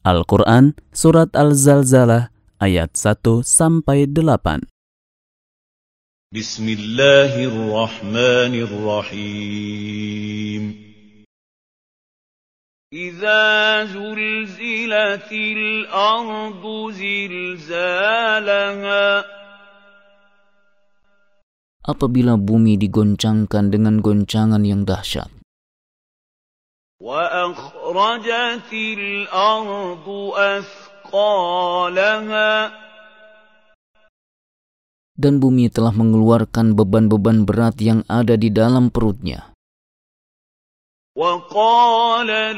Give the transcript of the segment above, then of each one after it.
Al-Quran Surat Al-Zalzalah ayat 1-8. Bismillahirrahmanirrahim. Idza zulzilatil ardu zilzalaha. Apabila bumi digoncangkan dengan goncangan yang dahsyat. Wa akhrajatil ardu athqalaha. Dan bumi telah mengeluarkan beban-beban berat yang ada di dalam perutnya. Wa qala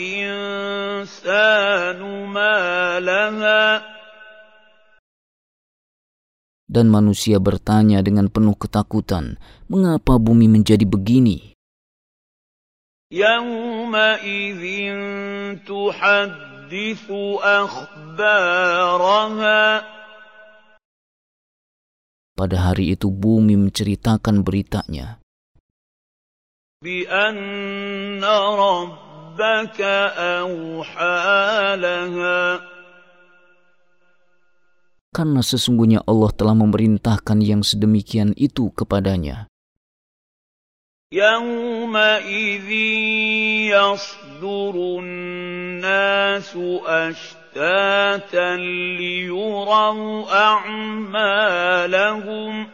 al-insanu ma laha. Dan manusia bertanya dengan penuh ketakutan, mengapa bumi menjadi begini? Yawma idzin tuhadditsu akhbaraha. Pada hari itu bumi menceritakan beritanya. Bi anna rabbaka awha laha. Karena sesungguhnya Allah telah memerintahkan yang sedemikian itu kepadanya. Yawma idzin yasdurun nasu ashtatan liyuraw a'malahum.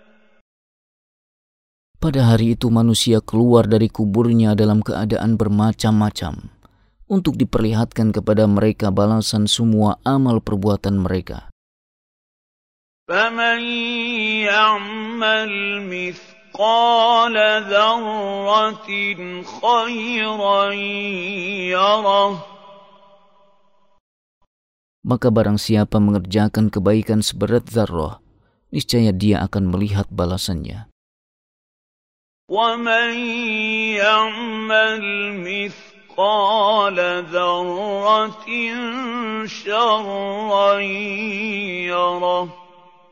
Pada hari itu manusia keluar dari kuburnya dalam keadaan bermacam-macam untuk diperlihatkan kepada mereka balasan semua amal perbuatan mereka. فَمَنْ يَعْمَلْ مِثْقَالَ ذَرَّةٍ خَيْرًا يَرَهُ. Maka barang siapa mengerjakan kebaikan seberat zarrah, niscaya dia akan melihat balasannya. وَمَنْ يَعْمَلْ مِثْقَالَ ذَرَّةٍ شَرًّا يَرَهُ.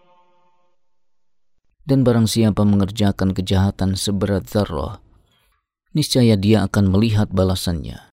Dan barang siapa mengerjakan kejahatan seberat zarrah, niscaya dia akan melihat balasannya.